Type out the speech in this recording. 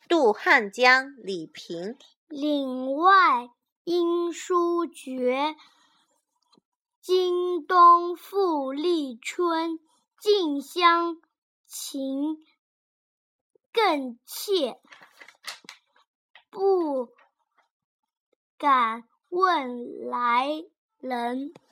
渡汉江，李萍。 岭外音书绝，经冬复历春。近乡情更怯，不敢问来人。